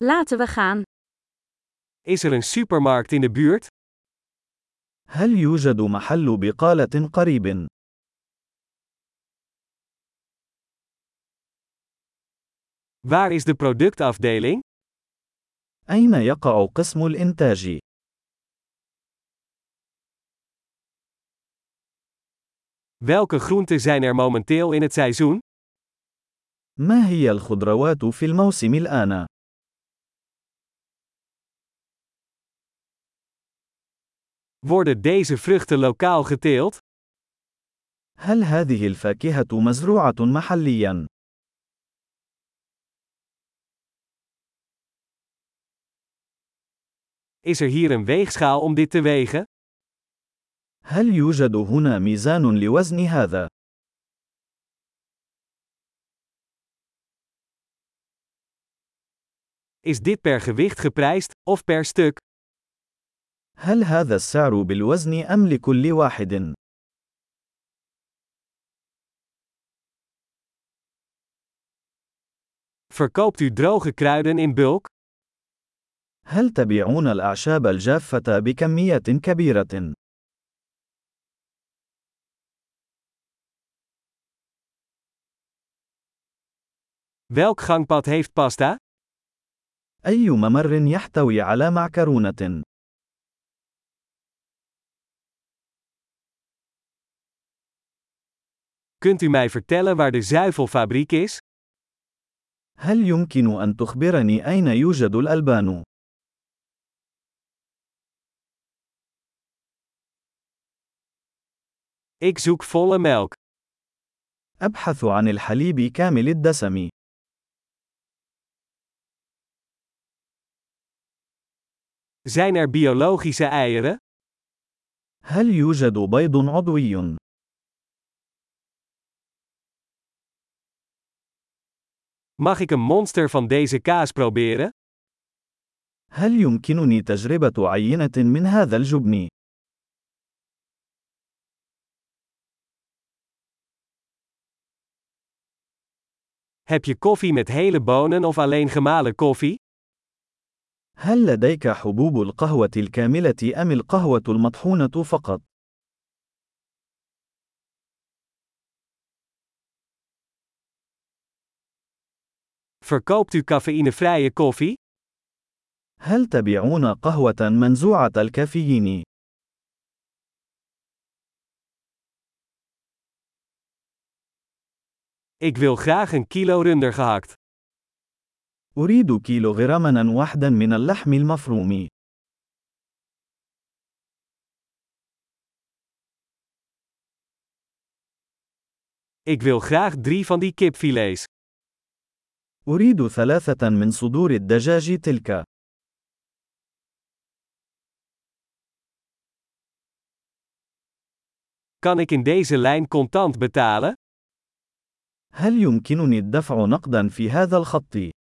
Laten we gaan. Is er een supermarkt in de buurt? هل يوجد محل بقالة قريب؟ Waar is de productafdeling? أين يقع قسم الإنتاج؟ Welke groenten zijn er momenteel in het seizoen? ما هي الخضروات في الموسم الآن؟ Worden deze vruchten lokaal geteeld? هل هذه الفاكهة مزروعة محلياً؟ Is er hier een weegschaal om dit te wegen? هل يوجد هنا ميزان لوزن هذا؟ Is dit per gewicht geprijsd, of per stuk? هل هذا السعر بالوزن أم لكل واحد؟ Verkoopt u droge kruiden in bulk? هل تبيعون الأعشاب الجافة بكميات كبيرة؟ Welk gangpad heeft pasta? أي ممر يحتوي على معكرونة؟ Kunt u mij vertellen waar de zuivelfabriek is? هل يمكن أن تخبرني أين يوجد الألبان؟ Ik zoek volle melk. أبحث عن الحليب كامل الدسم. Zijn er biologische eieren? هل يوجد بيض عضوي؟ Mag ik een monster van deze kaas proberen? هل يمكنني تجربة عينة من هذا الجبن؟ Heb je koffie met hele bonen of alleen gemalen koffie? هل لديك حبوب القهوة الكاملة أم القهوة المطحونة فقط؟ Verkoopt u cafeïnevrije koffie? هل تبيعون قهوة منزوعة الكافيين؟ Ik wil graag een kilo runder gehakt. أريد كيلوغراما واحدا من اللحم المفروم. Ik wil graag 3 van die kipfilets. أريد 3 من صدور الدجاج تلك. Kan ik in deze lijn contant betalen? هل يمكنني الدفع نقدا في هذا الخط؟